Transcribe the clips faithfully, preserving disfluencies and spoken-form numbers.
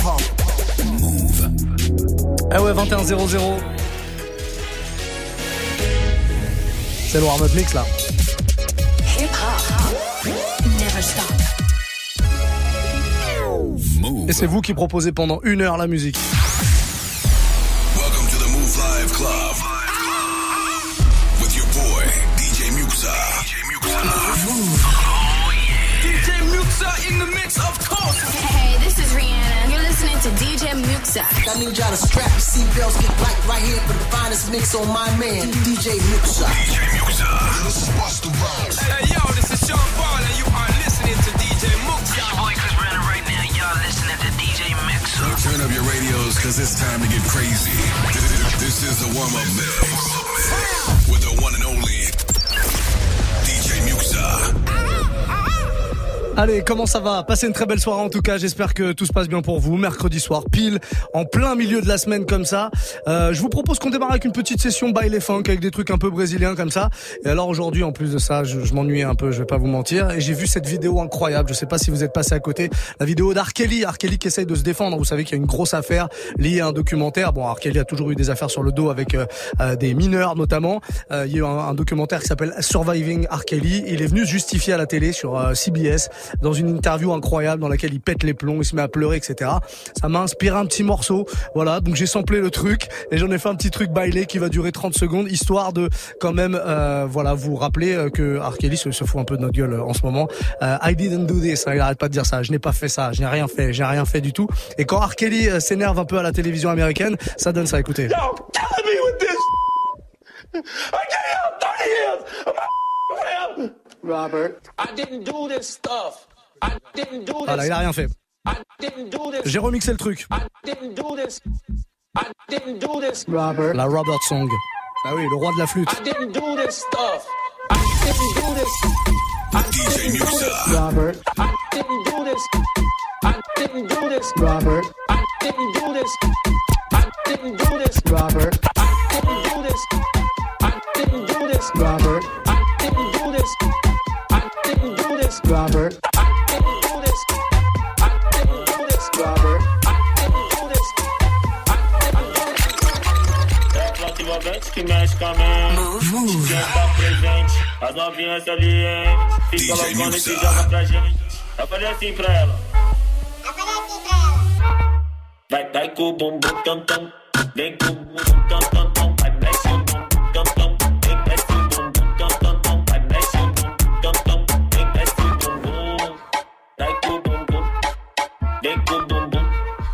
hip-hop. Move. Ah ouais, vingt et un zéro zéro. C'est le warm-up mix là. Hip-hop. Never stop. Move. Et c'est vous qui proposez pendant une heure la musique. Welcome to the Move Live Club. With your boy, D J Muxa. D J Muxa. Move. Oh yeah. D J Muxa in the mix, of course. Hey, this is Rihanna. You're listening to D J Muxa. I need y'all to strap your seatbelts, get right, right here for the finest mix on my man, D J Muxa. D J Muxa. This is Busta Rhymes. Hey, yo, this is Sean Paul, and you are listening to D J Muxa. Your boy Chris Brandon right now. Y'all listening to D J Muxa. Turn up your radios, cause it's time to get crazy. This is the warm-up mix. With the one and only D J Muxa. Allez, comment ça va? Passez une très belle soirée en tout cas, j'espère que tout se passe bien pour vous. Mercredi soir, pile, en plein milieu de la semaine comme ça. Euh, je vous propose qu'on démarre avec une petite session baile funk, avec des trucs un peu brésiliens comme ça. Et alors aujourd'hui, en plus de ça, je, je m'ennuyais un peu, je vais pas vous mentir. Et j'ai vu cette vidéo incroyable, je sais pas si vous êtes passé à côté. La vidéo d'R. Kelly, R. Kelly qui essaye de se défendre. Vous savez qu'il y a une grosse affaire liée à un documentaire. Bon, R. Kelly a toujours eu des affaires sur le dos avec euh, euh, des mineurs notamment. Euh, il y a eu un, un documentaire qui s'appelle Surviving R. Kelly. Il est venu se justifier à la télé sur euh, C B S dans une interview incroyable dans laquelle il pète les plombs, il se met à pleurer, et cetera. Ça m'a inspiré un petit morceau, voilà, donc j'ai samplé le truc et j'en ai fait un petit truc bailé qui va durer trente secondes, histoire de quand même, euh, voilà, vous rappeler euh, que R. Kelly se, se fout un peu de notre gueule euh, en ce moment. Euh, I didn't do this, hein, il arrête pas de dire ça, je n'ai pas fait ça, je n'ai rien fait, j'ai rien fait du tout. Et quand R. Kelly euh, s'énerve un peu à la télévision américaine, ça donne ça, écoutez. Yo, killing me with this. I gave up thirty years of my Robert. I didn't do this stuff. I didn't do this. Voilà, il a rien fait. I didn't do this. J'ai remixé le truc. I didn't do this. I didn't do this. Robert. La Robert Song. Ah oui, le roi de la flûte. I didn't do this stuff. I didn't do this. I D J didn't do this. Muxa. Robert. I didn't do this. I didn't do this. Robert. I didn't do this. I didn't do this. Robert. I didn't do this. I didn't do this. Robert. I didn't do this. I didn't do this. Robert. I didn't do this. I didn't do this. Robert. I didn't do this. I didn't do this. É ativamente que mexe com a mente. Quem tá presente, as novinhas salientes. Fica D J loucona e se Muxa. joga pra gente. Eu falei assim pra ela. Vai, vai com o bumbum tam tam. Vem com o bumbum tam tam tam. Vai, mexe o bumbum tam tam. Vem, mexe o bumbum tam tam tam. Vai, mexe o bumbum tam tam. Vem, mexe o bumbum. Vai com o bumbum. Vem com o bumbum.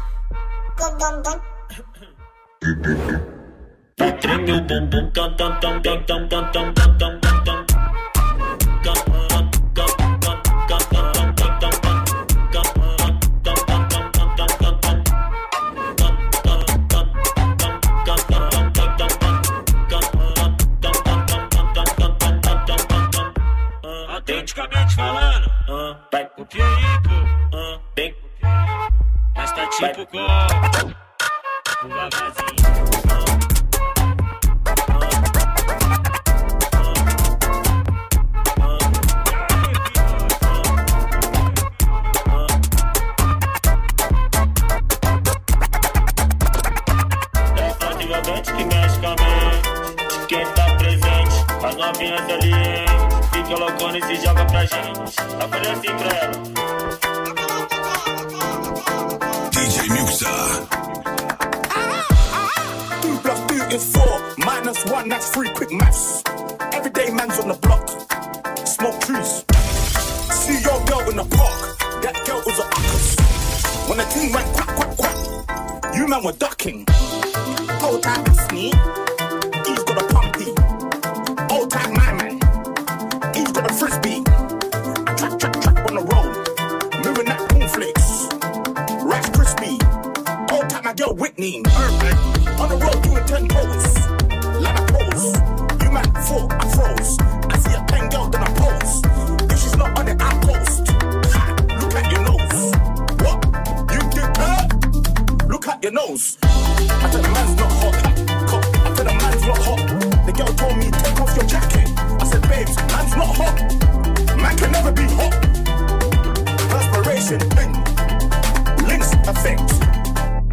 Vai, treme o bumbum tam tam tam tam tam tam tam tam tam tam tam. Autenticamente falando, Vai, copia aí, pô. vem, Mas tá tipo com o vavazinho. ativamente que mexe com a mente. Quem tá presente, as novinhas salientes. Fica loucona e se joga pra gente. Eu falei assim pra ela. D J Muxa. Two plus two is four, minus one, that's three, quick maths. Everyday man's on the block, smoke trees. See your girl in the park, that girl was a uckers. When the team went quack, quack, quack, you man were ducking. Hold tight, that's me, he's got a pumpy. Hold tight, my man, he's got a frisbee. Track, track, track on the road, moving that cornflakes. Rice crispy, hold tight, my girl Whitney. Perfect. On the road doing ten toes, like a pose. You man four, I froze. I see a pen girl, then I pose. If she's not on it, I post. Ha, look at your nose. What? You did her? Look at your nose. I tell the man's not hot. I tell the man's not hot. The girl told me, take off your jacket. I said, babes, man's not hot. Man can never be hot. Perspiration thing. Links effect.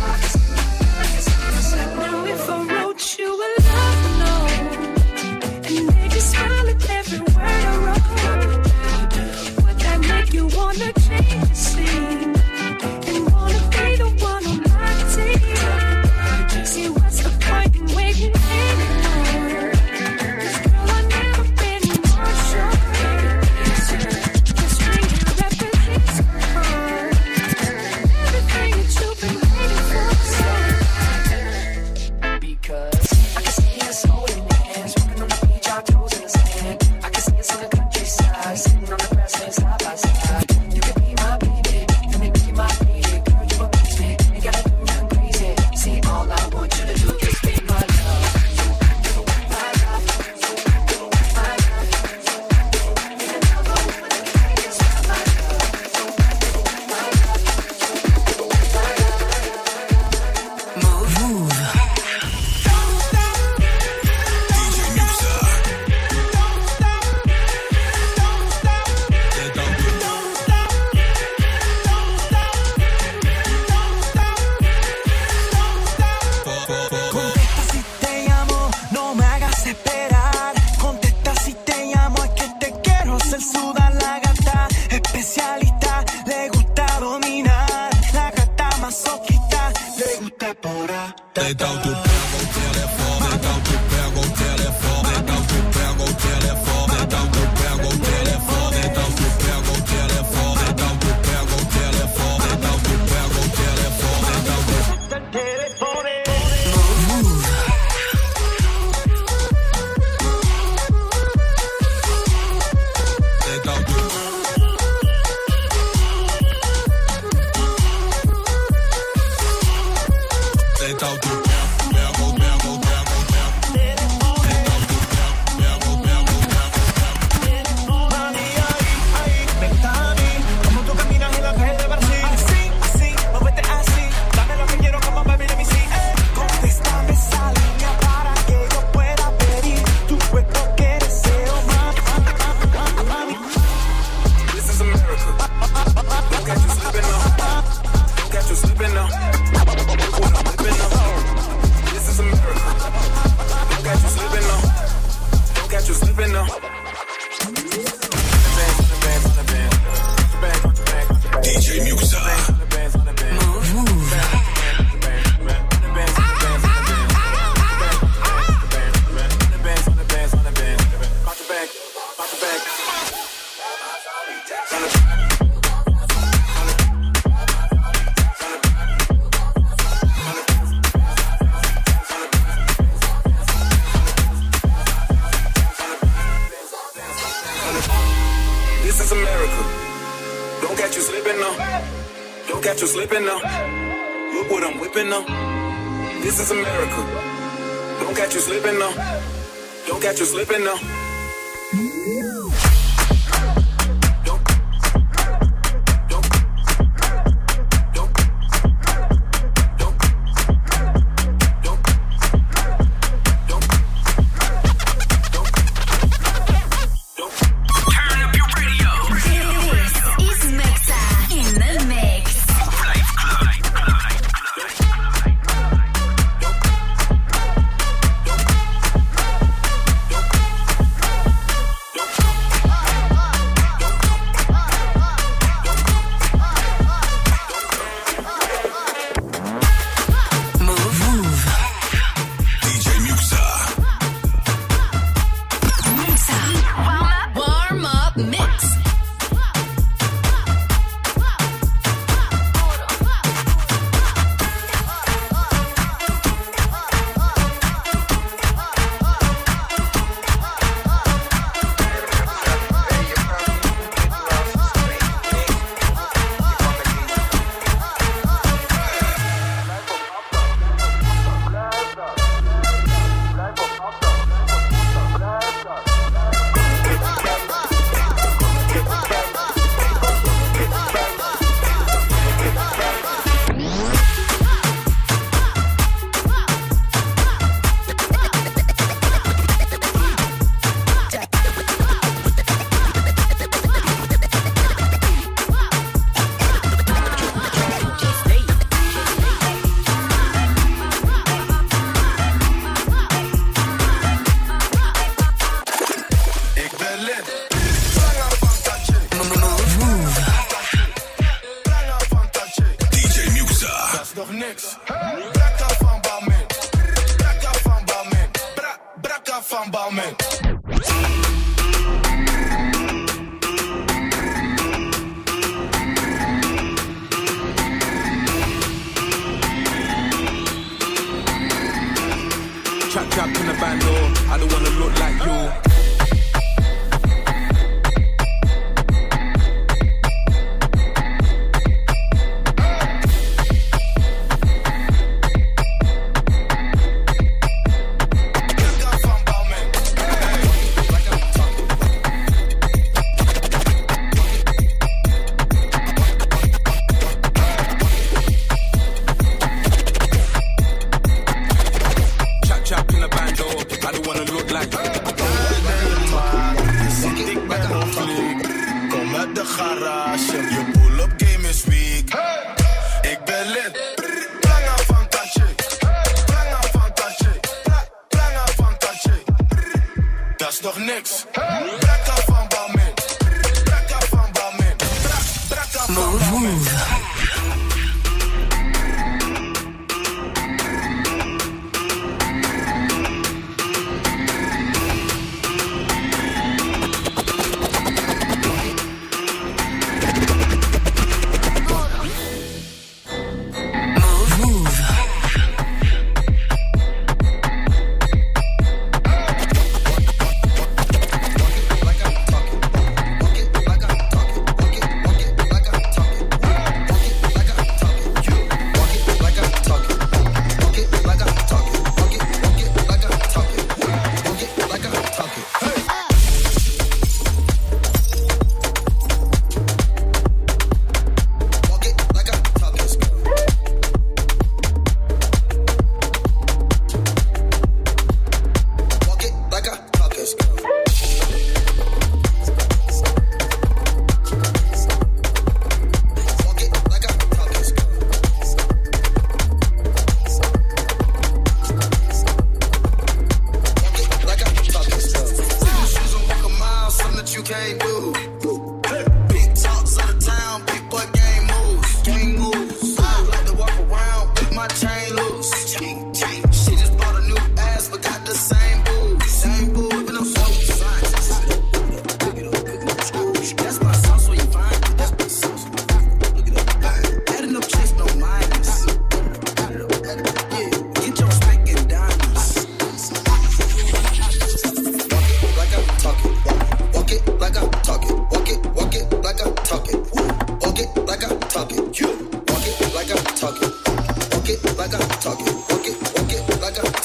Now if I wrote you a love note and made you smile at every word I wrote, would that make you wanna change the scene and wanna be the one on my team? See, what's the point in waiting anymore? 'Cause girl, I've never been more sure. This ring here represents my heart, everything that you've been waiting for. Because I can see us holding hands, walking on the beach, our toes in the sand. I can see us in the countryside, sitting on the grassland side by side. You can be my baby, let me be my baby. Girl, you amaze me, ain't gotta do nothing crazy. See, all I want you to do is be my love. My love, my love. Ain't another one that can make it stop my love. My love, my love. Move. Move. D J Muxa. Contesta si te llamo, no me hagas esperar. Contesta si te llamo, es que te quiero hacer sudar la gata. Especialista, le gusta dominar. La gata masoquista, le gusta explorar. Então tu pega o telefone, então tu pega o telefone, então tu pega o telefone, então tu pega o telefone, então tu pega o telefone, então tu pega o telefone, então tu pega o telefone, então tu Então tu Então tu pega o pega o pega o pega. Então tu pega o pega o pega. Mami, ahí, ahí, vente a mí. Como tú caminas en la calle de Brasil. Así, así, muévete así. Dame lo que quiero, como baby, let me see. Eh. Contéstame esa línea para que yo pueda pedir tu cuerpo que deseo, mami. Mami. This is America. Don't catch you slipping now. Don't catch you slipping now. Slipping now. Don't catch you slipping now. Look what I'm whipping now. This is America. Don't catch you slipping now. Don't catch you slipping now. Talk it.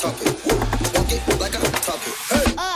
talk it. Walk it like I talk it. Hey. Uh.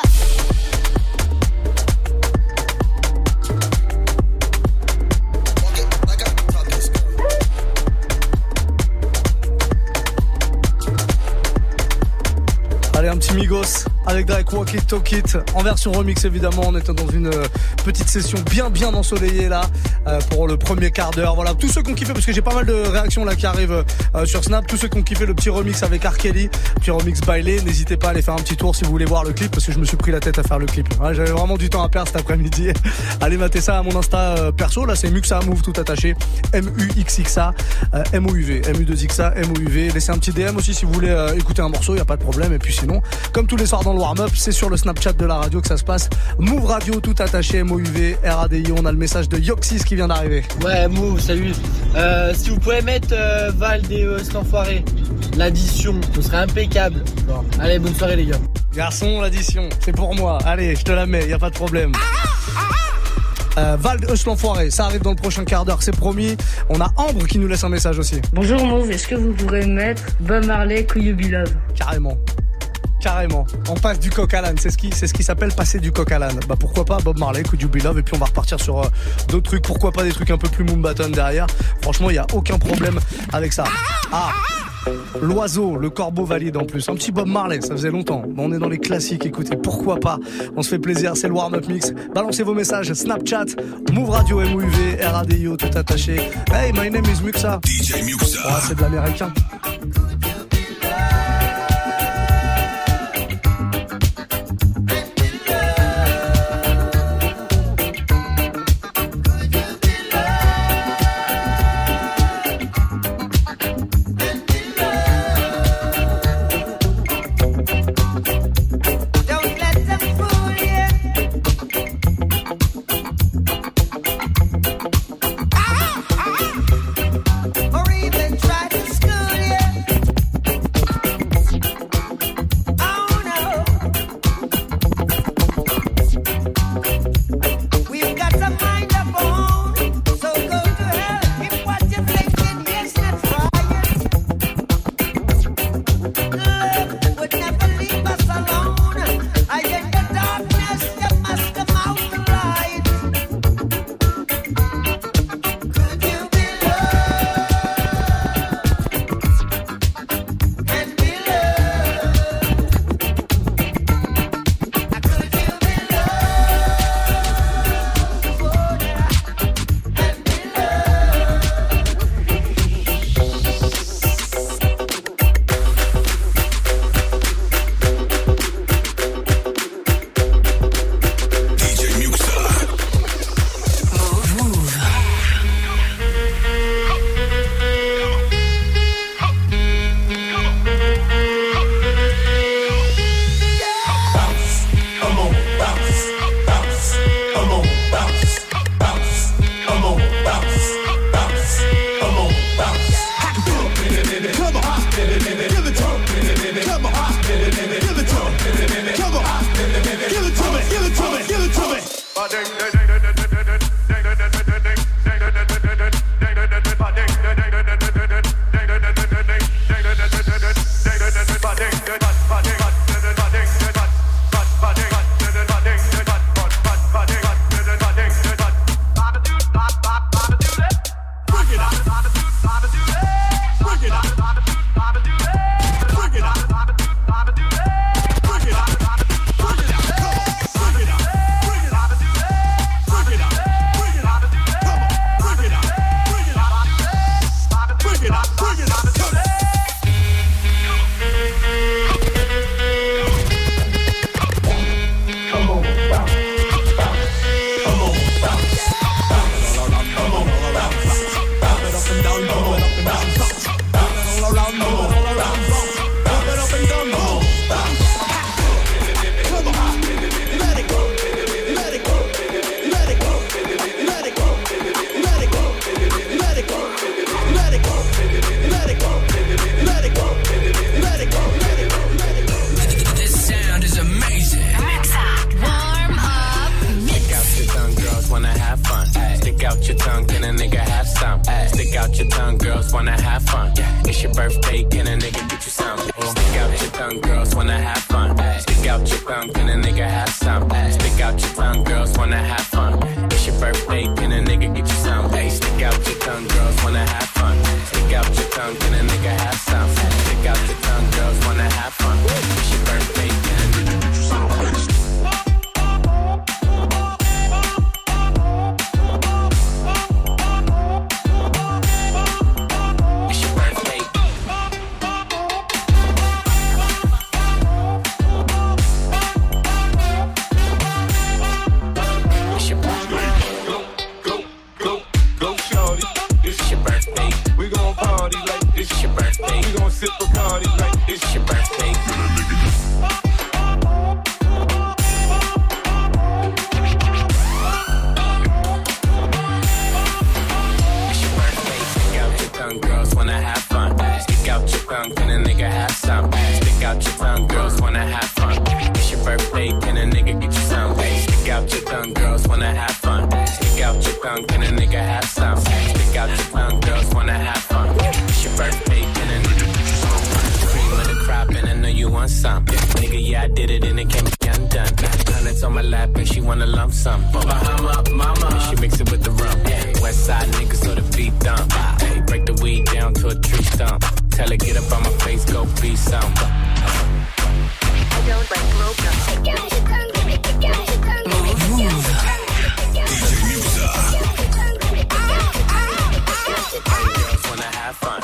Allez, un petit Migos avec Drake, Walk It, Talk It, en version remix évidemment. On était dans une euh, petite session bien bien ensoleillée là euh, pour le premier quart d'heure. Voilà, tous ceux qui ont kiffé, parce que j'ai pas mal de réactions là qui arrivent euh, sur Snap, tous ceux qui ont kiffé le petit remix avec R. Kelly, petit remix bailé, n'hésitez pas à aller faire un petit tour si vous voulez voir le clip, parce que je me suis pris la tête à faire le clip. Ouais, j'avais vraiment du temps à perdre cet après-midi. Allez mater ça à mon Insta euh, perso, là c'est Muxa Move tout attaché, M U X X A, euh, M O U V, M U deux X A, M O U V. Laissez un petit D M aussi si vous voulez euh, écouter un morceau, y a pas de problème. Et puis sinon, comme tous les soirs dans le warm-up, c'est sur le Snapchat de la radio que ça se passe. Move Radio tout attaché, M O U V, R A D I. On a le message de Yoxis qui vient d'arriver. Ouais, Move, salut. Euh, si vous pouvez mettre euh, Val des euh, cet enfoiré, l'addition, ce serait impeccable. Bon. Allez, bonne soirée les gars. Garçon, l'addition, c'est pour moi. Allez, je te la mets, y a pas de problème. Euh, Val Hush l'enfoiré, ça arrive dans le prochain quart d'heure, c'est promis. On a Ambre qui nous laisse un message aussi. Bonjour Move, est-ce que vous pourrez mettre Bob Marley, Could You Be Love? Carrément. Carrément. On passe du coq à l'âne. C'est ce qui, c'est ce qui s'appelle passer du coq à l'âne. Bah pourquoi pas Bob Marley, Could You Be Love, et puis on va repartir sur euh, d'autres trucs. Pourquoi pas des trucs un peu plus Moombaton derrière. Franchement, il y a aucun problème avec ça. Ah. L'oiseau, le corbeau valide en plus. Un petit Bob Marley, ça faisait longtemps. Bon, on est dans les classiques, écoutez, pourquoi pas. On se fait plaisir, c'est le warm-up mix. Balancez vos messages, Snapchat, Move Radio, M O U V, R A D I O, tout attaché. Hey, my name is Muxa. D J Muxa. Ah, c'est de l'américain. wanna have fun. It's your birthday, can a nigga get you some? Stick out your tongue, girls wanna have fun. Stick out your tongue, can a nigga have some? Stick out your tongue, girls wanna have fun. It's your birthday, can a nigga get you some? Hey, stick out your tongue, girls wanna have fun. Stick out your tongue, can a nigga have some? Stick out your tongue, girls wanna have fun. It's your birthday, can a nigga get you some? Sip Bacardi like it's your birthday. It's your birthday. Stick out your tongue, girls wanna have fun. Stick out your tongue, can a nigga have some? Stick out your tongue, girls wanna have fun. It's your birthday, can a nigga get you some? Stick out your tongue, girls wanna have fun. Stick out your tongue, can a nigga have some? Stick out your tongue, girls wanna have fun. It's your birthday, can a nigga get you some? And I know you want some. Nigga, yeah, I did it and it can't be undone. Hundreds on my lap and she wanna lump some. Bahama, mama, and she mix it with the rum. Yeah. West side niggas so the beat dump. Hey, break the weed down to a tree stump. Tell her get up on my face, go be some. I don't like broke up. Take out your tongue, take out your tongue. Move. D J Musa. Girls wanna have fun.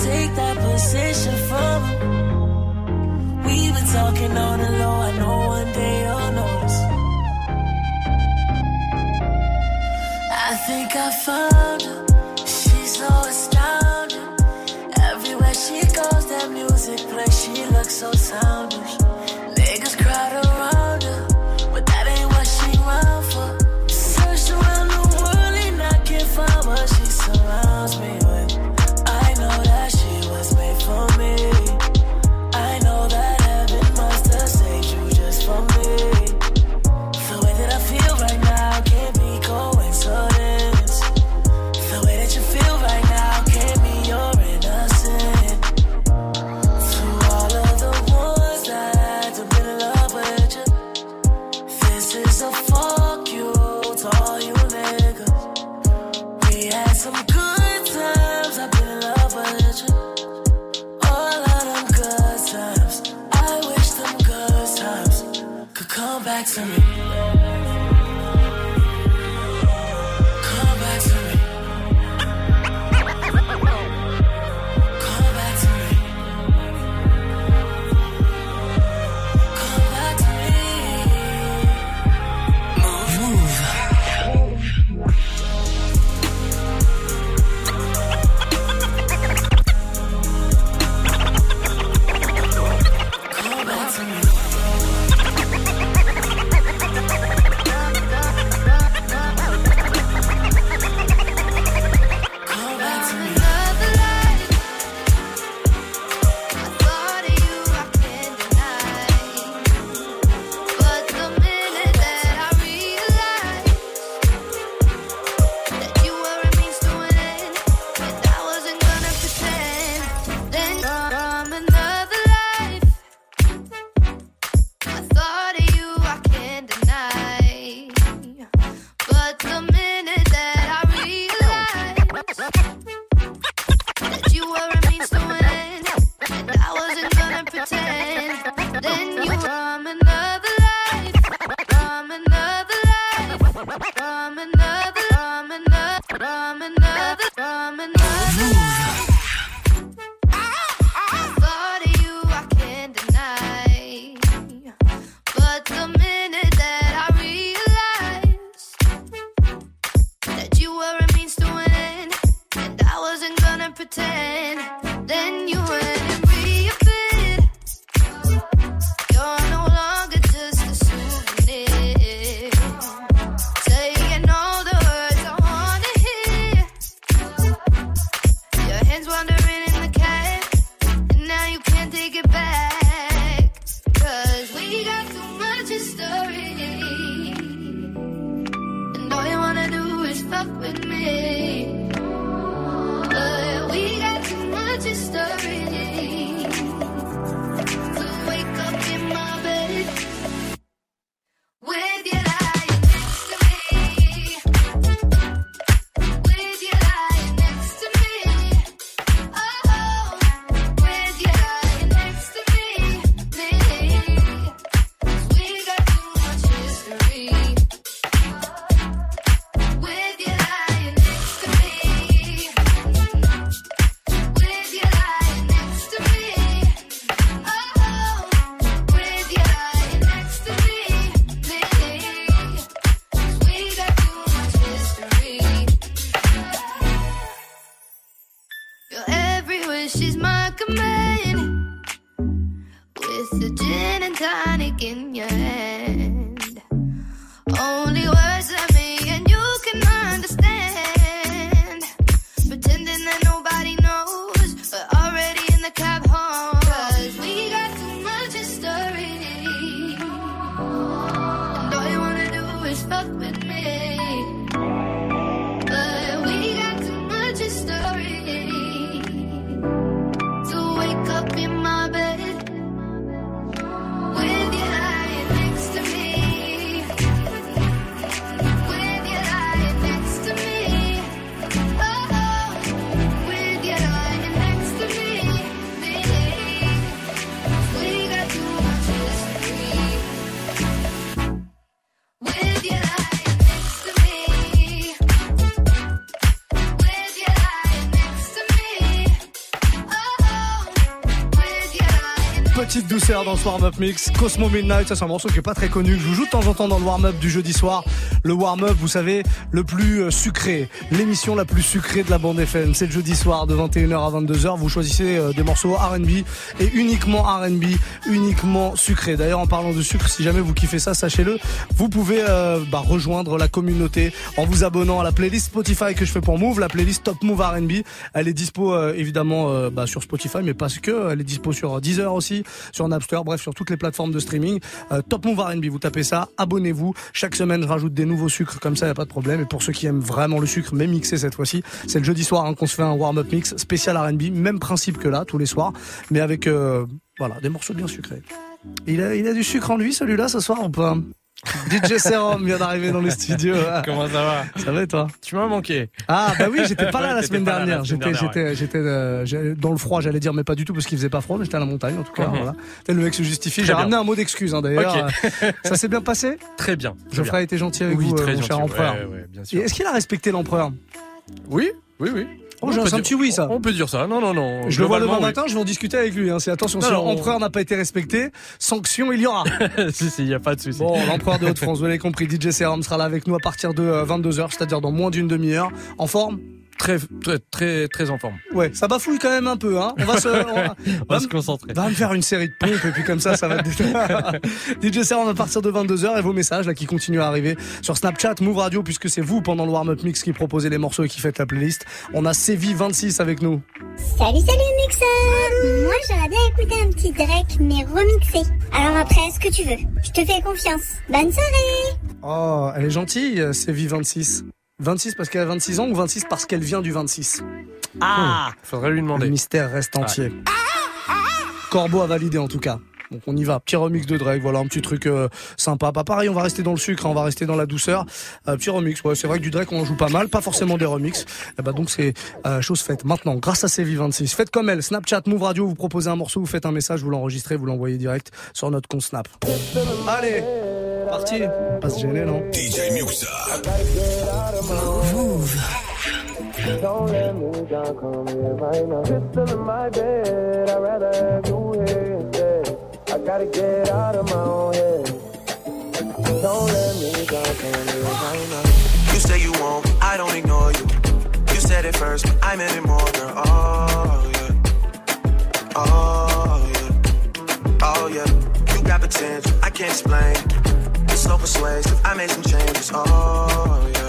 take that position from him. We've been talking on the low, I know one day you'll notice. I think I found her, she's so astounding. Everywhere she goes, that music plays, she looks so soundish. Niggas crowd around her, but that ain't what she round for. Searched around the world and I can't find what she surrounds me with. I know that she was made for me. I know that heaven must have saved you just for me. The way that I feel right now can't be coincidence. The way that you feel right now can't be your innocence. To all of the ones that have been in love with you, this is a fuck you to all you niggas. We had some good times, I've been in love with you. All of them good times, I wish them good times could come back to me. Come back to me. Come back to me. Come back to me. Move, move. Come back to me. Come back to me. Another life. I thought of you, I can't deny. But the minute that I realized that you were a means to an end, and I wasn't gonna pretend, then from another life. I thought of you, I can't deny. But the minute that I realized that you were a means to an end, and I wasn't gonna pretend, then you from another life, from another life, from another, from another, from another, from another life. I thought of you, I can't deny. But the minute that I realized that you were a means to an end, and I wasn't gonna pretend, then you went and reappeared. You're no longer just a souvenir, saying all the words I wanna hear. Your hands wandering in the cab, and now you can't take it back. Cause we got too much history, and all you wanna do is fuck with me. But we got too much history to wake up in my bed with you lying next to me, with you lying next to me, oh, with you lying next to me, me. 'Cause we got too much history, with you lying next to me, with you lying next to me, oh, with you lying next to me, me. 'Cause we got too much history. Your every wish is my command, with the gin and tonic in your hand. Only words that me and you can understand. Pretending that nobody knows, but already in the cab home. 'Cause we got too much history, and all you wanna do is fuck with me. But we got too much history to wake up in my bed with you lying next Petite douceur dans ce warm-up mix. Cosmo Midnight, ça c'est un morceau qui est pas très connu, que je vous joue de temps en temps dans le warm-up du jeudi soir. Le warm-up, vous savez, le plus sucré, l'émission la plus sucrée de la bande F M. C'est le jeudi soir de vingt et une heures à vingt-deux heures. Vous choisissez des morceaux R and B et uniquement R and B, uniquement sucré. D'ailleurs, en parlant de sucre, si jamais vous kiffez ça, sachez-le, vous pouvez euh, bah, rejoindre la communauté en vous abonnant à la playlist Spotify que je fais pour Move, la playlist Top Move R and B. Elle est dispo euh, évidemment euh, bah, sur Spotify, mais pas que. Elle est dispo sur Deezer aussi, sur Napster, bref, sur toutes les plateformes de streaming. Euh, Top Move R and B, vous tapez ça, abonnez-vous. Chaque semaine, je rajoute des nouveaux sucres, comme ça, y a pas de problème. Et pour ceux qui aiment vraiment le sucre, mais mixé cette fois-ci, c'est le jeudi soir hein, qu'on se fait un warm-up mix spécial R and B, même principe que là, tous les soirs, mais avec euh, voilà, des morceaux bien sucrés. Il a, il a du sucre en lui, celui-là, ce soir ou pas? D J Serum vient d'arriver dans les studios. Comment ça va? Ça va et toi? Tu m'as manqué. Ah bah oui, j'étais pas là ouais, la semaine pas dernière. la semaine j'étais, dernière, j'étais, ouais. j'étais euh, dans le froid, j'allais dire, mais pas du tout parce qu'il faisait pas froid, mais j'étais à la montagne en tout cas. Mm-hmm. Voilà. Le mec se justifie. Très J'ai bien. ramené un mot d'excuse hein, d'ailleurs. Okay. Ça s'est bien passé? Très bien. Très Geoffrey a été gentil avec oui, vous, très mon gentil, cher empereur. ouais, ouais, bien sûr. Et est-ce qu'il a respecté l'empereur? Oui, oui, oui. Oh, j'ai un peut petit oui, ça. On peut dire ça. Non, non, non. Je le vois demain Globalement, matin, je vais en discuter avec lui. Hein. C'est attention, Non, si non, l'empereur n'a pas été respecté, sanction il y aura. oui. si, si, y a pas de souci. Bon, l'empereur de Haute-France, vous l'avez compris, D J Serum sera là avec nous à partir de vingt-deux heures, c'est-à-dire dans moins d'une demi-heure. En forme? Très, très, très, très en forme. Ouais, ça bafouille quand même un peu, hein. On va se, on va, On va se concentrer. Va me faire une série de pompes et puis comme ça, ça va te détendre. D J Serum à partir de vingt-deux heures et vos messages là qui continuent à arriver sur Snapchat, Move Radio, puisque c'est vous pendant le warm-up mix qui proposez les morceaux et qui faites la playlist. On a Sévi vingt-six avec nous. Salut, salut Mixer. Moi j'aurais bien écouté un petit Drake mais remixé. Alors après, ce que tu veux, je te fais confiance. Bonne soirée. Oh, elle est gentille, Sévi vingt-six. vingt-six parce qu'elle a vingt-six ans ou vingt-six parce qu'elle vient du vingt-six? Ah, faudrait lui demander. Le mystère reste entier. Corbeau a validé en tout cas. Donc on y va, petit remix de Drake, voilà un petit truc euh, sympa. Pas pareil, on va rester dans le sucre, hein, on va rester dans la douceur. Euh, petit remix, ouais, c'est vrai que du Drake on en joue pas mal, pas forcément des remixes. Et bah donc c'est euh, chose faite. Maintenant, grâce à Sévi vingt-six, faites comme elle, Snapchat, Move Radio, vous proposez un morceau, vous faites un message, vous l'enregistrez, vous l'envoyez direct sur notre compte Snap. Allez, parti. Pas se gêner, non? D J Muxa. Move. Don't let me down, come here right now. Pistol in my bed, I'd rather have you here instead. I gotta get out of my own head. Don't let me down, come here right now. You say you won't, I don't ignore you. You said it first, but I meant it more, girl. Oh, yeah. Oh, yeah. Oh, yeah. You got potential, I can't explain. You're so persuasive, I made some changes. Oh, yeah.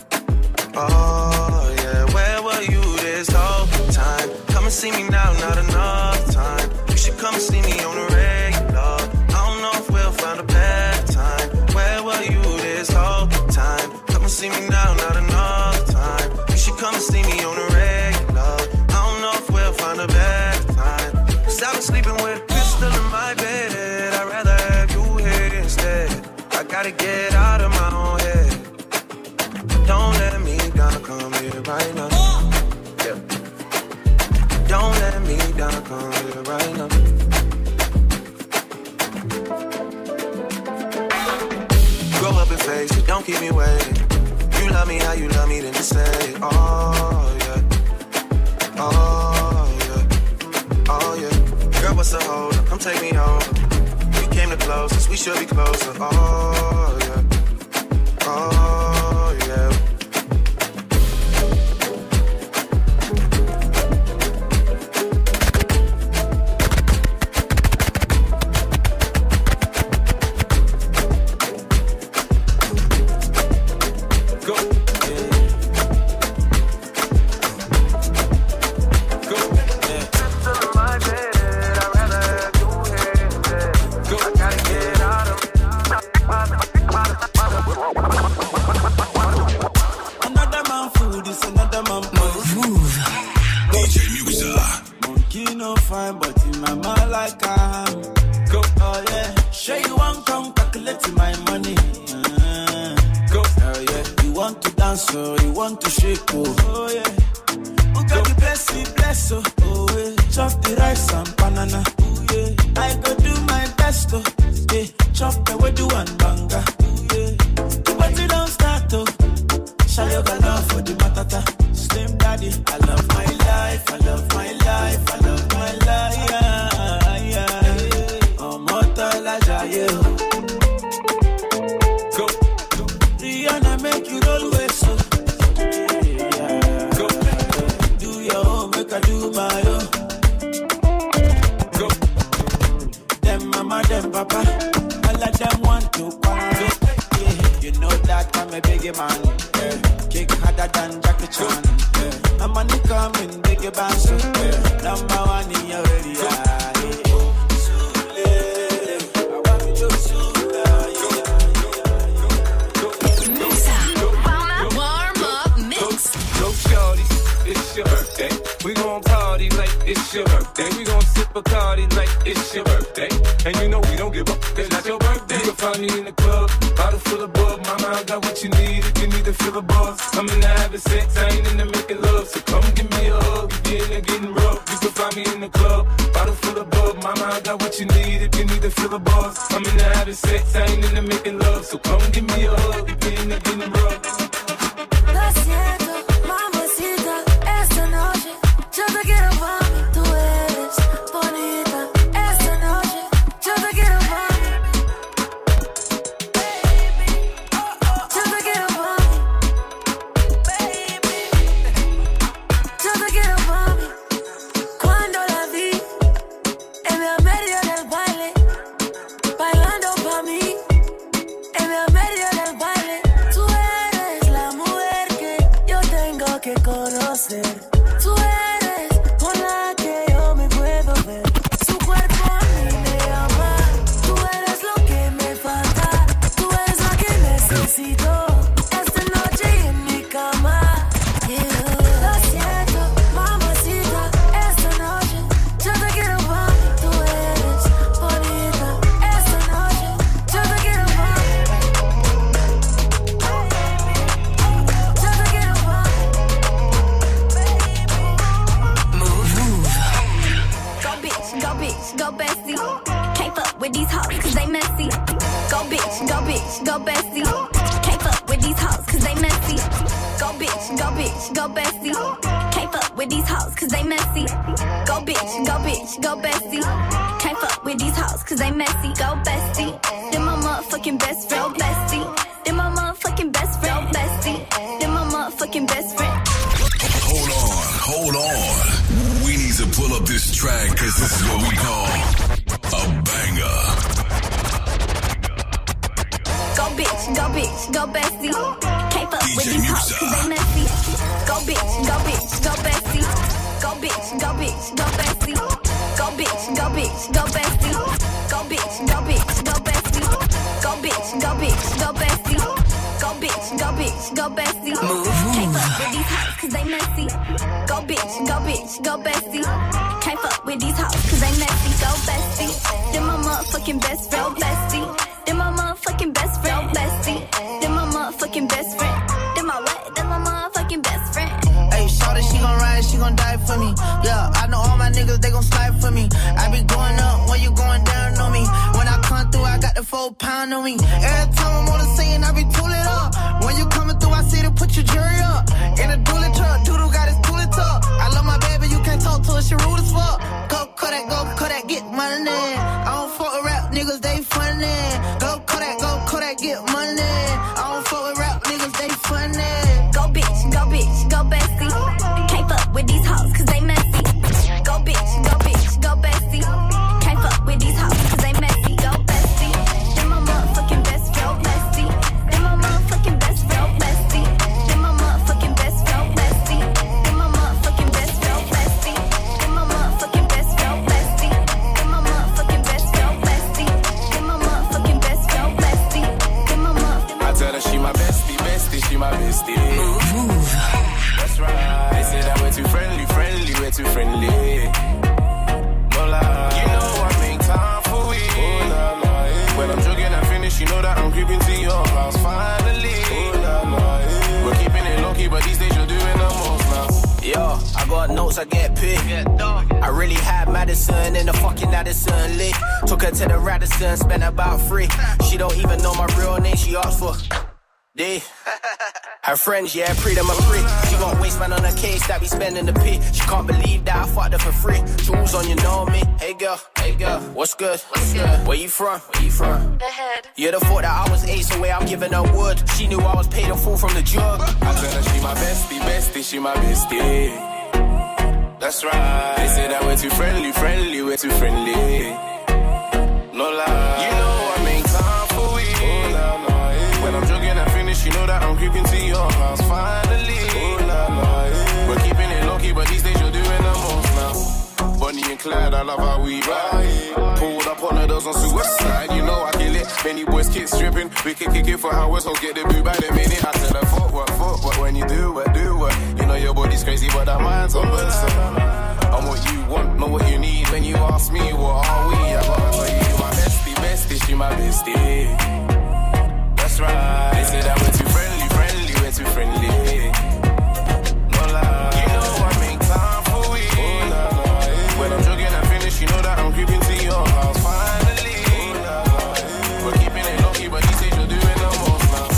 Oh, yeah. Where were you this whole time? Come and see me now, not enough time. You should come and see me on the regular. I don't know if we'll find a better time. Where were you this whole time? Come and see me now, not enough time. You should come and see me on the regular. I don't know if we'll find a better time. Cause I've been sleeping with a pistol in my bed. I'd rather have you here instead. I gotta get out of my own head. Don't let me down, come here right now. Yeah. Don't let me down, come here right now. Grow up and face it, don't keep me waiting. You love me how you love me, then just say it. Oh, yeah. Oh, yeah. Oh, yeah. Girl, what's the hold up? Come take me home. We came the closest, we should be closer. Oh, yeah. Oh, yeah. I love my life, I love my life, yeah, yeah. I do my own. Go. Them mama, them papa, all of them want to quarrel. Yeah. You know that I'm a biggie man. Yeah. Kick harder than Jackie Chan. Yeah. I'm on the coming, biggie band. Yeah. Number one in your area. Yeah. Your birthday. We gon' party like it's your birthday. We gon' sip Bacardi like it's your birthday. And you know we don't give up, it's not your birthday. You can find me in the club, bottle full of bub. Mama, I got what you need if you need to fill a buzz. I'm in the having sex, I ain't in the making love. So come give me a hug if you're in there getting rough. You can find me in the club, bottle full of bub. Mama, I got what you need if you need to fill a buzz. I'm in the having sex, I ain't in the making love. So come give me a hug if you're in there getting rough. Lo siento, mamacita, esta noche yo te quiero pa' mí. Tú eres bonita, esta noche yo te quiero pa' mí. Yo te quiero pa' mí. Yo te quiero pa' mí. Cuando la vi en el medio del baile, bailando pa' mí, en el medio del baile. Tú eres la mujer que yo tengo que conocer. Tú eres con la que yo me puedo ver. Su cuerpo a mí me llama. Tú eres lo que me falta. Tú eres la que necesito esta noche en mi cama. Yeah. Lo siento, mamacita, esta noche yo te quiero pa' mí. Tú eres bonita, esta noche yo te quiero pa' mí. Yo te quiero pa' mí. Go bitch, go bitch, go bestie. Can't fuck with these hoes cause they messy. Go bitch, go bitch, go bestie. Can't fuck with these hoes cause they messy. Go bitch, go bitch, go bestie. Can't fuck with these hoes cause they messy. Go bitch, go bitch, go bestie. Can't fuck with these hoes cause they messy. Go bestie. Then my motherfucking best friend. Go bestie. Then my motherfucking best friend. Go bestie. Then my motherfucking best friend. Hold on, hold on. We need to pull up this track because this is what we call a banger. Go bitch, go bitch, go bestie. Can't fuck with these hoes cause they messy. Go bitch, go bitch, go bestie. Go bitch, go bitch, go bestie. Go bitch, go bitch, go bestie. Go bitch, go bitch, go bestie. Go bitch, go bitch, go bestie. Go bitch, go bitch, go bestie. Can't fuck with these hoes cause they messy. Go bitch, go bitch, go bestie. Can't fuck with these hoes cause they messy. Go bestie. Then my motherfucking best friend. Go bestie. Then my motherfucking best friend. Go bestie. Then my motherfucking best friend. Then my what? Then my motherfucking best friend. Hey, shorty, she gon' ride, she gon' die for me. Yeah, I know all my niggas, they gon' slide for me. I be going up when you going down on me. When I come through, I got the four pound on me. Every time I'm on the scene, I be tooling up. When you coming through, I see to put your jury up. In a dually truck, Doodle got his tooling tuck. I love my baby, you can't talk to her, she rude as fuck. Go Kodak, go Kodak, get money. I don't fuck with rap niggas, they funny. Go Kodak, go Kodak, get money. I don't fuck with rap niggas, they funny. Go bitch, go bitch, go bestie. Can't fuck with these hoes cause they messy. Go bitch, go bitch, go bestie. Can't fuck with these hoes cause they messy. Go bestie. Then my motherfucking best friend. Bestie. Then my motherfucking best friend. Bestie. Then my motherfucking best friend. Bestie. Then my motherfucking best friend. Bestie. Then my motherfucking best friend. Bestie. Then my motherfucking best friend. Bestie. Then my motherfucking best friend. Bestie. Then my motherfucking. I tell her she my bestie, bestie, she my bestie. Move, move. That's right. They say that we're too friendly, friendly, we're too friendly. No lie. You know I make time for it. Oh, nah, nah, yeah. When I'm joking and finish, you know that I'm creeping to your house finally. Oh, nah, nah, yeah. We're keeping it low key, but these days you're doing the most now. Yo, I got notes, I get paid. I really had Madison in the fucking Addison lit. Took her to the Radisson, spent about three. She don't even know my real name, she asked for D. Her friends, yeah, pre them a free. She got waste man on her case that be spending the P. She can't believe that I fucked her for free. Jewels on, you know me. Hey girl, hey girl, what's good? What's good? Where you from? Where you from? The head. You'd have thought that I was ace away, I'm giving her wood. She knew I was paid in full from the jug. I tell her she my bestie, bestie, she my bestie. That's right. They say that we're too friendly, friendly, we're too friendly. No lie. You know I make time for we. Oh, nah, nah, yeah. When I'm joking and finish, you know that I'm creeping to your house finally. Oh, nah, nah, yeah. We're keeping it low key, but these days you're doing the most now. Bonnie and Clyde, I love how we ride. Pulled up on the doors on suicide, you know I kill it. Many boys kick stripping, we can kick it for hours, so get the boo by the minute. I said I fuck what, fuck what, when you do what, do what. You know your body's crazy, but our mind's on Benson. I'm what you want, know what you need. When you ask me, what are we? I gotta tell you, you my bestie, bestie, she my bestie. That's right. They say that we're too friendly, friendly, we're too friendly. No lie. You know I make time for we. Oh, nah, nah, yeah. When I'm joking and finish, you know that I'm creeping to your house finally. Oh, nah, nah, yeah. We're keeping it low key, but these days you're doing the most now.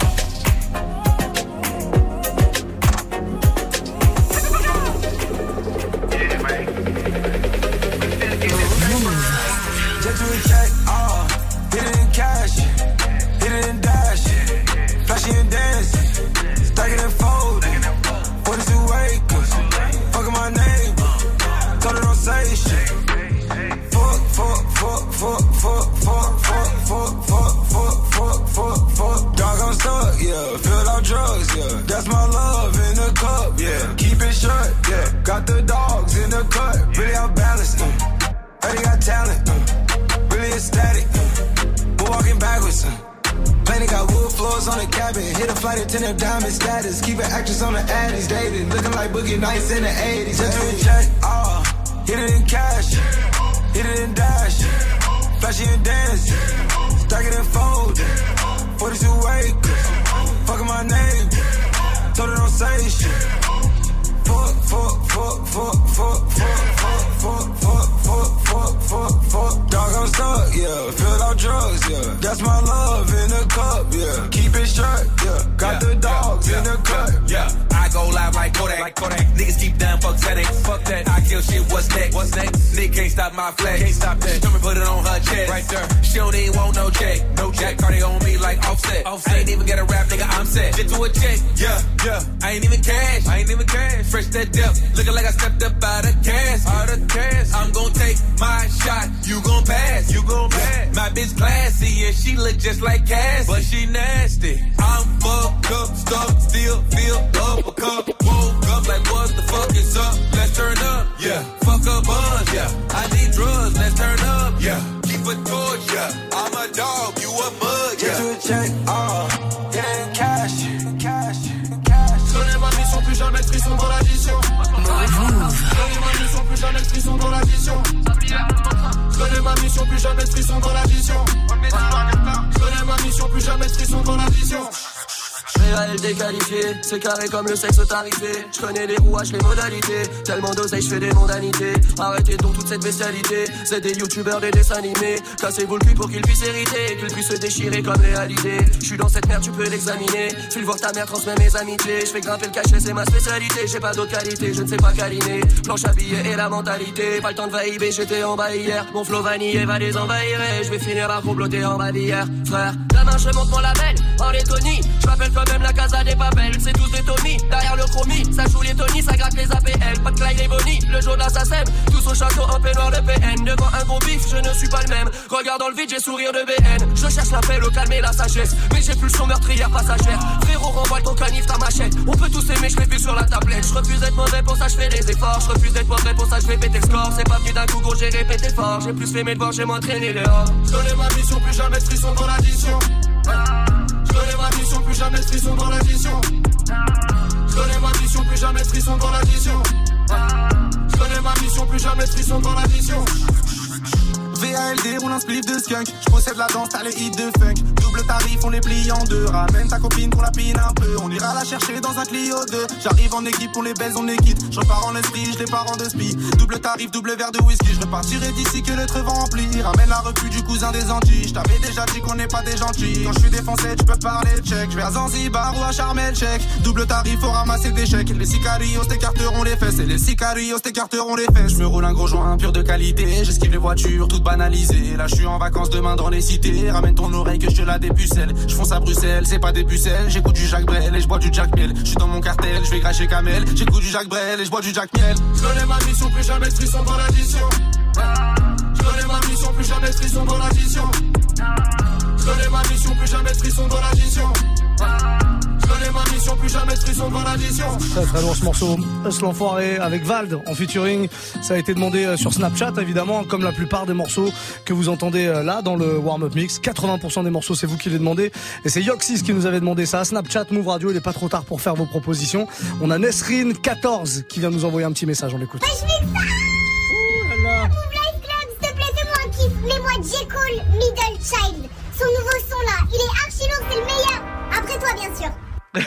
Just do a check, uh, hit it in cash, hit it in dash, flashy and dance, stack it and fold, forty-two acres, fucking my name, told her don't say shit. Fuck, fuck, fuck, fuck, fuck, fuck, fuck, fuck, fuck, fuck, fuck, fuck, fuck. Dog, I'm stuck, yeah, filled out drugs, yeah, that's my love in the cup, yeah, keep it shut, yeah, got the dogs in the cut, really out balanced, uh. Heard he got talent, uh, really ecstatic, uh, we're walking backwards, uh. Planet got wood floors on the cabin, hit a flight attendant diamond status, keep an actress on the addies, dating, looking like Boogie Nights in the eighties. Just do a check, ah, uh, hit it in cash, hit it in dash, flashy and dance, stack it and fold, forty-two acres, fucking my name, told her don't say shit. Fuck, fuck, fuck, fuck, fuck, fuck, fuck, fuck, fuck, fuck, fuck, fuck, fuck. Dog, I'm stuck, yeah. Filled out drugs, yeah. That's my love in the cup, yeah. Keep it shut, yeah. Got yeah, the dogs yeah, in the cut, yeah. yeah. I go live like Kodak, like Kodak. Niggas deep down, fuck Xanax, fuck that. I kill shit, what's next? What's next? Nick can't stop my flex, can't stop that. She put it on her chest, right there. She don't even want no check, no check. Cardi on me like Offset. Offset. I ain't even get a rap, nigga, I'm set. Get to a check, yeah, yeah. I ain't even cash, I ain't even cash. Fresh that depth, looking like I stepped up out of cash, out of cash. I'm gon' take my shot, you gon' pass, you gon' pass. My bitch classy and she look just like Cass, but she nasty. I'm fucked up, stuck, still feel up a cup. Woke up like what the fuck is up? Let's turn up, yeah. Fuck a buzz, yeah. I need drugs, let's turn up, yeah. Keep a torch, yeah. I'm a dog, you a mud, yeah. Get you a check, ah, uh, hit it in cash, cash, cash. Connais ma mission, plus jamais de frisson dans l'addition. Connais ma mission, plus jamais de frisson dans l'addition. Connais ma mission, plus jamais de frisson dans l'addition. Connais ma mission, plus jamais de frisson dans l'addition. Réel déqualifié, c'est carré comme le sexe tarifé. Je connais les rouages, les modalités. Tellement d'oseille, je fais des mondanités. Arrêtez donc toute cette bestialité. C'est des youtubeurs, des dessins animés. Cassez-vous le cul pour qu'ils puissent hériter, qu'ils puissent se déchirer comme réalité. Je suis dans cette merde, tu peux l'examiner. File voir ta mère, transmets mes amitiés. Je fais grimper le cachet, c'est ma spécialité. J'ai pas d'autre qualité, je ne sais pas câliner. Planche à billets et la mentalité. Pas le temps de vaïber, j'étais en bas hier. Mon flow vanillé va les envahir. Je vais finir par comploter en bas d'hier. Frère, demain je monte mon label. En Lettonie, je m'appelle comme même la casa des papels, c'est tous des Tommy. Derrière le chromie, ça joue les Tony, ça gratte les A P L. Pas de Clyde et Bonnie, le jour de l'assassin. Tous au château en peignoir de P N. Devant un gros bif, je ne suis pas le même. Regarde dans le vide, j'ai sourire de B N. Je cherche la paix, le calme et la sagesse. Mais j'ai plus le son meurtrière passagère. Frérot, renvoie ton canif, ta machette. On peut tous aimer, je fais plus sur la tablette. Je refuse d'être mauvais, pour ça je fais des efforts. Je refuse d'être mauvais, pour ça je vais péter le score. C'est pas venu d'un coup, gros, j'ai répété fort. J'ai plus fait mes devoirs, j'ai m'entraîné dehors. Je connais ma mission, plus jamais de frisson dans l'addition. Je connais ma mission, plus jamais de frisson dans l'addition. Je connais ma mission, plus jamais de frisson dans l'addition. Je connais ma mission, plus jamais de frisson dans l'addition. V A L D roule un spliff de skunk. Je possède la danse, t'as les hits de funk. Double tarif, on les plie en deux. Ramène ta copine pour la pine un peu. On ira la chercher dans un Clio deux. J'arrive en équipe, on les baise, on est quitte. Je repars en esprit, je les pars en deux spi. Double tarif, double verre de whisky. Je repartirai d'ici que le treu va remplir. Ramène la repu du cousin des Antilles. Je t'avais déjà dit qu'on n'est pas des gentils. Quand je suis défoncé, tu peux parler tchèque. Je vais à Zanzibar ou à Sharm el Sheikh. Double tarif, faut ramasser des chèques. Les sicarios t'écarteront les fesses. Et les sicarios t'écarteront les fesses. Je me roule un gros joint pur de qualité. J'esquive les voitures toutes banalisées. Là, je suis en vacances demain dans les cités. Ramène ton oreille que je te la dépucelle. Je fonce à Bruxelles, c'est pas des pucelles. J'écoute du Jacques Brel et je bois du Jack Miel. Je suis dans mon cartel, je vais cracher Kamel. J'écoute du Jacques Brel et je bois du Jack Miel. Je connais ma mission, plus jamais de frisson dans l'addition. Je connais ma mission, plus jamais de frisson dans l'addition. Je connais ma mission, plus jamais de frisson dans l'addition. Je connais ma mission, plus jamais de frisson dans l'addition. Très très lourd ce morceau. Us l'enfoiré avec Vald en featuring. Ça a été demandé sur Snapchat évidemment, comme la plupart des morceaux que vous entendez là dans le warm-up mix. quatre-vingts pour cent des morceaux, c'est vous qui les demandez. Et c'est Yoxis qui nous avait demandé ça. Snapchat, Move Radio, il est pas trop tard pour faire vos propositions. On a Nesrine quatorze qui vient nous envoyer un petit message, on l'écoute. Bah, je vais ça. Ouh là là. Move Life Club, s'il te plaît, fais-moi un kiff. Mets-moi J. Cole, Middle Child. Son nouveau son là, il est archi lourd, c'est le meilleur. Après toi, bien sûr.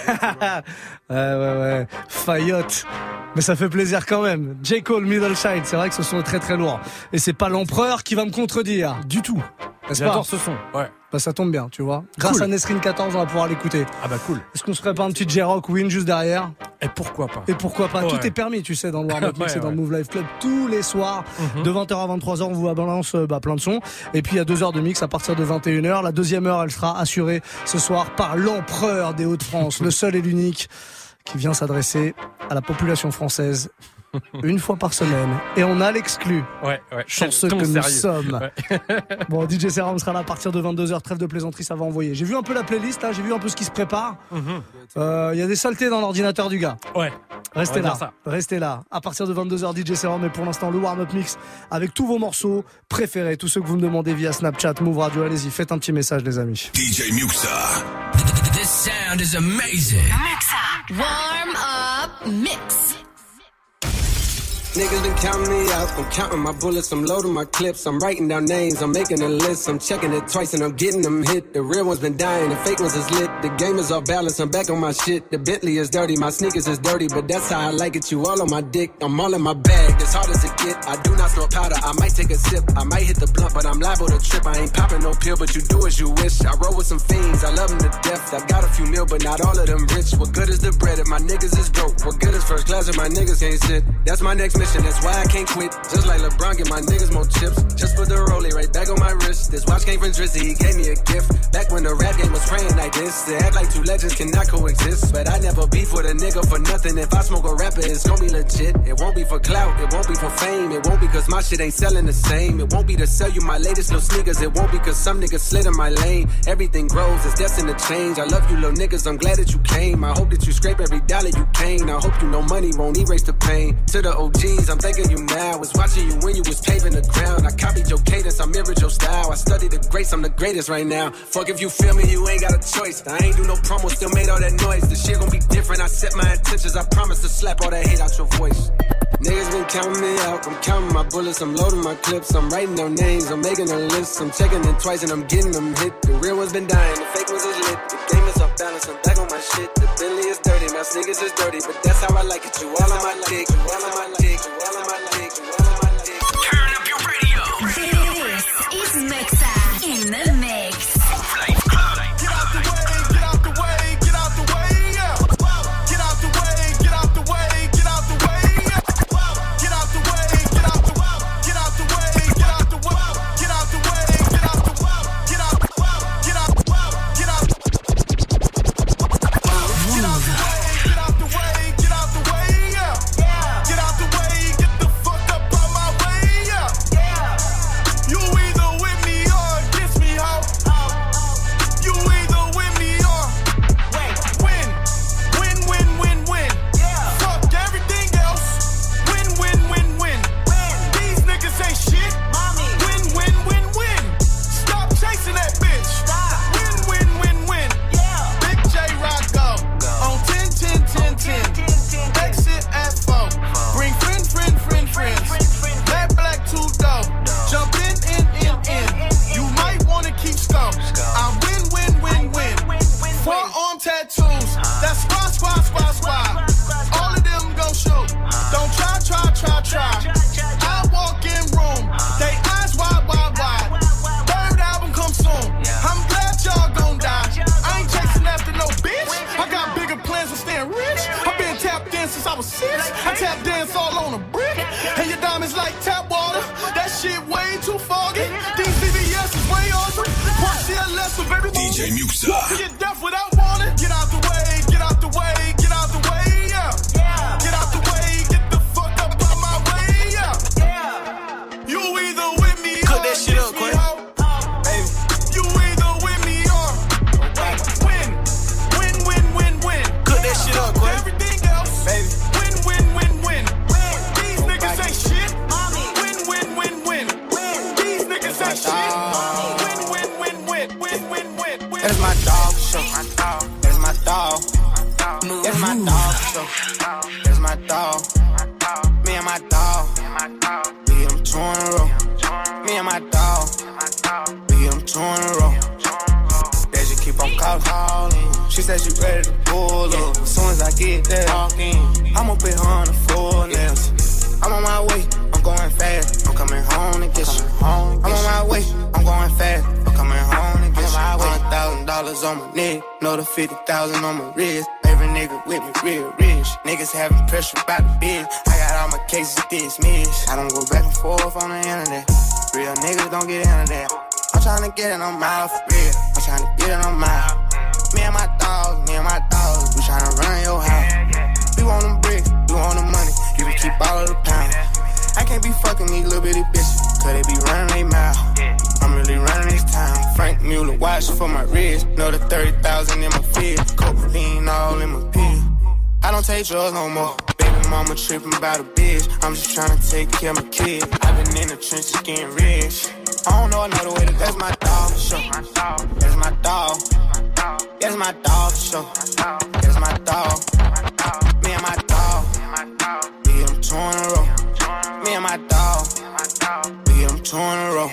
ouais, ouais, ouais. Fayotte. Mais ça fait plaisir quand même. J. Cole, Middle Child, c'est vrai que ce son est très très lourd. Et c'est pas l'empereur qui va me contredire. Du tout. N'est-ce pas ? J'adore ce son. Ouais. Bah ça tombe bien, tu vois. Grâce cool. à Nesrine quatorze, on va pouvoir l'écouter. Ah bah cool. Est-ce qu'on se ferait pas un petit J-Rock Win juste derrière ? Et pourquoi pas ? Et pourquoi pas ? Ouais. Tout est permis, tu sais, dans le Warm-Up Mix ouais, et dans ouais. le Move Life Club tous les soirs. Mm-hmm. De vingt heures à vingt-trois heures, on vous balance bah, plein de sons. Et puis il y a deux heures de mix à partir de vingt et une heures. La deuxième heure, elle sera assurée ce soir par l'empereur des Hauts-de-France, le seul et l'unique, qui vient s'adresser à la population française une fois par semaine. Et on a l'exclu. Ouais, ouais. Chanceux Ton que nous sérieux. sommes. Ouais. Bon, D J Serum sera là à partir de vingt-deux heures. Trêve de plaisanterie, ça va envoyer. J'ai vu un peu la playlist, là. J'ai vu un peu ce qui se prépare. Il Mm-hmm. euh, y a des saletés dans l'ordinateur du gars. Ouais. Restez On va là. dire ça. Restez là. À partir de vingt-deux heures, D J Serum. Et pour l'instant, le warm-up mix avec tous vos morceaux préférés. Tous ceux que vous me demandez via Snapchat, Move Radio. Allez-y, faites un petit message, les amis. D J Muxa. This sound is amazing. Warm up mix. Niggas been counting me out. I'm counting my bullets, I'm loading my clips. I'm writing down names, I'm making a list. I'm checking it twice and I'm getting them hit. The real ones been dying, the fake ones is lit. The game is off balance, I'm back on my shit. The Bentley is dirty, my sneakers is dirty, but that's how I like it. You all on my dick, I'm all in my bag. As hard as it get, I do not snort powder. I might take a sip, I might hit the blunt, but I'm liable to trip. I ain't popping no pill, but you do as you wish. I roll with some fiends, I love them to death. I got a few mil, but not all of them rich. What good is the bread if my niggas is broke? What good is first class if my niggas can't sit? That's my next mission, that's why I can't quit. Just like LeBron, get my niggas more chips. Just put the rollie right back on my wrist. This watch came from Drizzy, he gave me a gift. Back when the rap game was praying like this. They act like two legends cannot coexist. But I never beef with a nigga for nothing. If I smoke a rapper, it's gon' be legit. It won't be for clout, it won't be for fame. It won't be cause my shit ain't selling the same. It won't be to sell you my latest little sneakers. It won't be cause some niggas slid in my lane. Everything grows, it's destined to change. I love you little niggas, I'm glad that you came. I hope that you scrape every dollar you came. I hope you know money won't erase the pain. To the O Gs, I'm thanking you now. I was watching you when you was paving the ground. I copied your cadence, I mirrored your style. I studied the greats, I'm the greatest right now. Fuck if you feel me, you ain't got a choice. I ain't do no promo, still made all that noise. The shit gon' be different, I set my intentions. I promise to slap all that hate out your voice. Niggas been counting me out, I'm counting my bullets, I'm loading my clips. I'm writing down names, I'm making a list. I'm checking it twice and I'm getting them hit. The real ones been dying, the fake ones is lit. The game is off balance, I'm back on my shit. The Bentley is dirty, my sneakers is dirty, but that's how I like it. You all on my dick, you all on my dick, you all on my dick, you all on my dick. Turn up your radio. This is Mixa in the mix. Get out the way, get out the way, get out the way, yeah. Get out the way, get out the way, get out the way, yeah. Get out the way, get out the way, get out the way, get out the way, get out the way, get out the way, get out, get out, get out. Get out the way, get out the way, get out the way, yeah. Get out the way, get the fuck up out my way, yeah. You either with me or against me, ho. You either with me or win, win, win, win, win. Fuck everything else. Win, win, win, win. These niggas ain't shit. Win, win, win, win. Stop chasing that bitch. Win, win, win, win. Big J Rocco on ten, ten, ten, ten. Exit at four. Bring friend, friend, friend, friends. That black two door. Jump in, in, in, in. You might wanna keep scope. I win, win, win, win. Forearm tattoos. That's squad, squad, squad, squad. All of them go shoot. Don't try, try, try, try. I walk in room. They eyes wide, wide, wide. Third album come soon. I'm glad y'all gon' die. I ain't chasing after no bitch. I got bigger plans of staying rich. I've been tapped in since I was six. I tap dance all on a brick. And your diamonds like tap water. That shit way too foggy. These C V S D J Muxa. Get deaf without warning. Get out the way, get out the way, get out the way, yeah. Yeah. Get out the way, get the fuck up out my way, yeah. Yeah. You either with me or that shit up, Quay. Baby. You either with me or win. Win, win, win, win. Cook that shit up, Quay. Everything else, baby. Win, win, win, win. These niggas ain't shit. Win, win, win, win. These niggas ain't shit. Win, win, win, win. Win, win, win, win. That's my dog, show. That's my dog. That's my dog, show. That's my dog. Me and my dog. We hit them two in a row. Me and my dog. We hit them two in a row. They just keep on calling. She said she ready to pull up. As soon as I get there, I'ma put her on the floor nails. I'm on my way, I'm going fast. I'm coming home to get you. I'm on my way, I'm going fast. I'm coming home to get you. One thousand dollars on my neck, another fifty thousand on my wrist. Every nigga with me real rich. Niggas having pressure about the biz. I got all my cases dismissed. I don't go back and forth on the internet. Real niggas don't get into that. I'm tryna get it on my for real. I'm tryna get it on my. Me and my dogs, me and my dogs, we tryna run your house. We want them bricks, we want the money. You can keep all of the pounds. I can't be fucking these little bitty bitches, cause they be running they mouth. I'm really running this town. Frank Mueller watch for my wrist. Know the thirty thousand in my fist. Cocaine all in my pill. I don't take drugs no more. Baby mama tripping about a bitch. I'm just trying to take care of my kid. I've been in the trenches getting rich. I don't know another way to. That's my dog for sure. That's my dog. That's my dog for sure. That's my dog. Me and my dog. We hit them two in a row. Me and my dog. We hit them two in a row.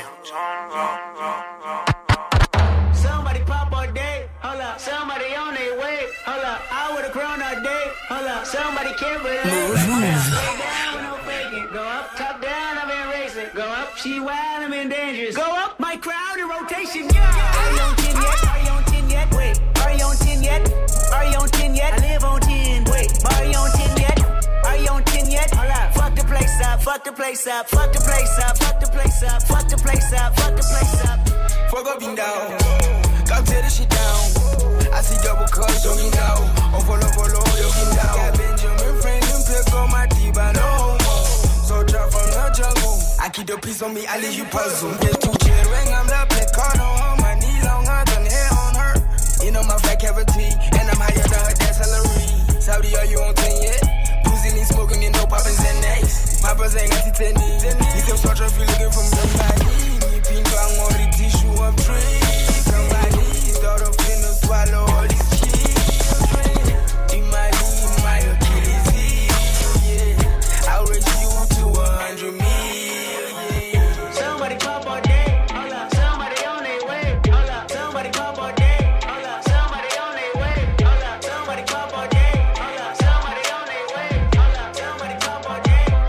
Somebody pop all day, hold up. Somebody on their way, hold up. I would've grown all day, hold up. Somebody can't relate. Move, move. Lay down with no faking. Go up, top down, I've been racing. Go up, she wild, I'm in dangerous. Go up, my crowd in rotation, yeah. Are you on ten yet? Are you on ten yet? Wait, are you on ten yet? Are you on ten yet? I live on ten. Wait, are you on ten yet? Are you on ten yet? Hold up. Fuck the place up, fuck the place up, fuck the place up, fuck the place up, fuck the place up, fuck the place up. Fuck up and down, go tear the shit down. I see double cuts, you know. Oh, follow, follow, you can down. Got Benjamin Franklin, pick on my deep, I know. So drop from the jungle. I keep the peace on me, I leave you puzzle. Get too chill, ring, I'm the black card on my knee, longer than hair on her. You know my fat cavity, and I'm higher than her dad's salary. Saudi, are you on ten yet? Pussy need smoking, you know poppin' Xanax. Papa's ain't got tennis. You can start if you looking for somebody. Me pink, I'm on the tissue, I'm tree. Somebody, start off in the swallow all these children. In my lead, my Achilles heel, yeah. I'll raise you to a hundred million. Somebody pop all day, hold up. Somebody on their way, hold up. Somebody pop all day, hold up. Somebody on their way, hold up. Somebody pop all day, hold up. Somebody on their way, hold up. Somebody pop all day.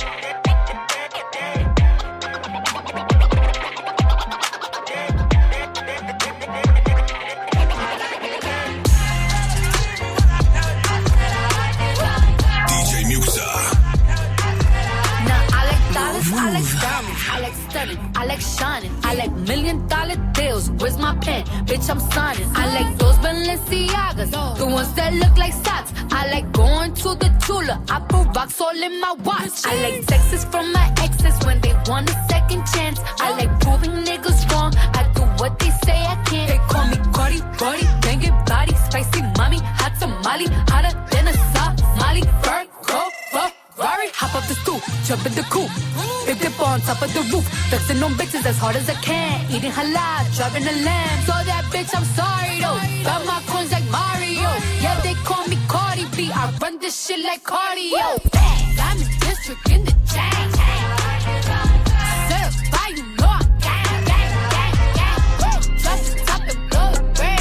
I like diamonds, I like stunning, I like shining, I like million dollar deals. Where's my pen? Bitch, I'm signing. I like those Balenciagas, the ones that look like socks. I like going to the Tula, I put rocks all in my watch. I like texts from my exes when they want a second chance. I like proving niggas wrong, I do what they say I can't. They call me Cardi, Cardi, banging body, spicy mommy, hot tamale, hotter than a Somali. Virgo, Ferrari, hop up the stoop, jump in the coupe. Big dip on top of the roof, flexing on bitches as hard as I can. Eating halal, driving a lamb. So that bitch, I'm sorry though. Got my coins like Mario. Yeah, they call me Cardi B. I run this shit like cardio. I'm in district in the chain. Certified, you know I'm gang, gang, gang, gang. Drop the top and blow the brand.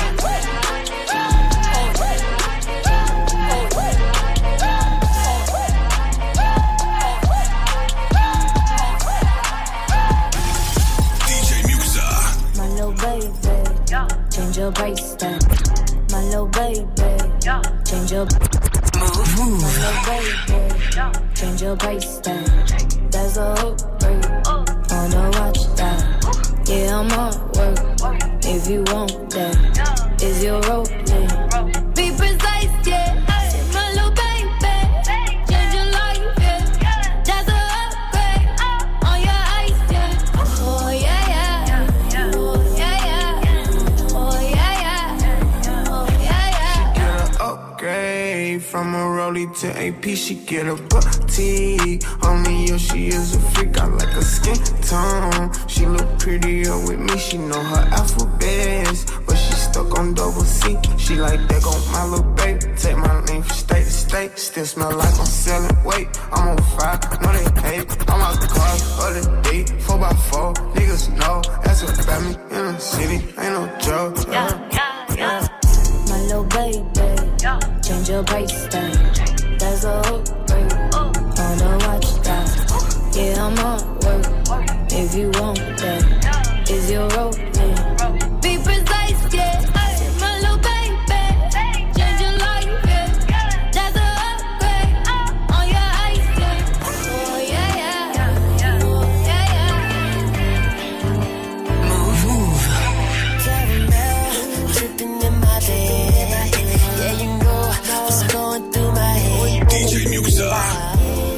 Change your bracelet, my little baby. Change your move, move. My little baby. Change your bracelet. There's a hook break. Wanna watch that? Yeah, I'm on work. If you want that, is your role? Yeah. Be precise, yeah. My little baby, change your life, yeah. That's a upgrade on your ice, yeah. Oh yeah, yeah. Oh yeah, yeah. Oh yeah, yeah. Oh yeah, yeah. She get an upgrade from a rollie to A P. She get a boutique. Only yo, she is a freak. I like her skin tone. She look prettier with me. She know her alphabets, but she stuck on double C. She like that on my little baby. Take my name from state to state. Still smell like I'm selling weight. I'm on fire, no they hate. I'm out the car, other day, four by four. Niggas know that's about me in the city. Ain't no joke. Yeah, yeah, yeah. My little baby, change your bracelet. There's a upgrade on the watch that. Yeah, I'm on work. If you want that, is your role? Yeah. Be precise, yeah. My little baby, change your life, yeah. That's a upgrade on your ice, yeah. Oh yeah, yeah. Oh yeah, yeah. Move, move. Caramel dripping in my bed. Yeah, you know what's going through my head. D J Muxa.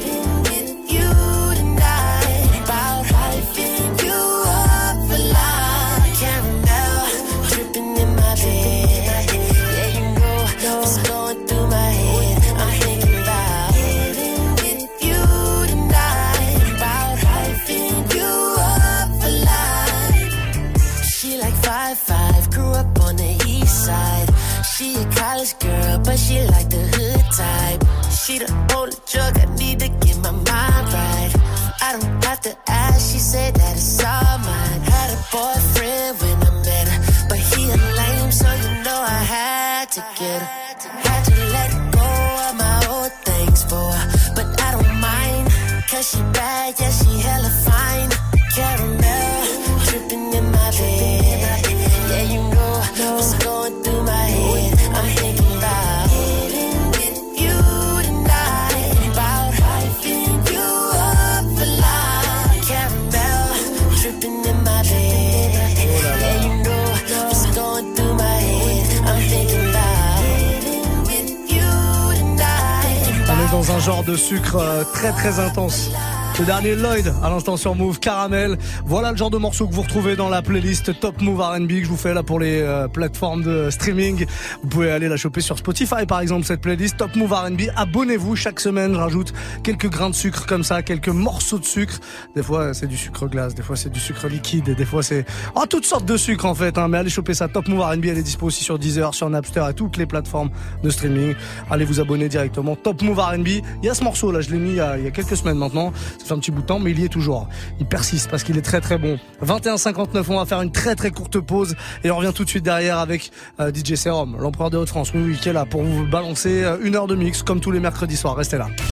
She a college girl, but she like the hood type. She the only drug I need to get my mind right. I don't have to ask, she said that it's all mine. Had a boyfriend when I met her, but he a lame, so you know I had to get her. Had to let go of my old things for her, but I don't mind, cause she bad, yeah, she hella fine. Caramel dripping in my bed. Yeah, you know what's going through my head. I'm thinking about getting with you tonight, about hyping you up for life. Caramel dripping in my bed. Yeah, you know what's going through my head. I'm thinking about getting with you tonight. On est dans un genre de sucre euh, très très intense. Le dernier Lloyd, à l'instant sur Move, Caramel. Voilà le genre de morceau que vous retrouvez dans la playlist Top Move R and B que je vous fais là pour les euh, plateformes de streaming. Vous pouvez aller la choper sur Spotify par exemple, cette playlist Top Move R and B. Abonnez-vous, chaque semaine je rajoute quelques grains de sucre comme ça, quelques morceaux de sucre. Des fois c'est du sucre glace, des fois c'est du sucre liquide, et des fois c'est oh, toutes sortes de sucres en fait, hein. Mais allez choper ça, Top Move R and B, elle est dispo aussi sur Deezer, sur Napster et toutes les plateformes de streaming. Allez vous abonner directement, Top Move R and B. Il y a ce morceau là, je l'ai mis il y a, il y a quelques semaines maintenant. Ça fait un petit bout de temps, mais il y est toujours. Il persiste parce qu'il est très très bon. vingt et un cinquante-neuf, on va faire une très très courte pause et on revient tout de suite derrière avec euh, D J Serum, l'empereur de Haute-France. Oui, oui, qui est là pour vous balancer une heure de mix comme tous les mercredis soirs. Restez là.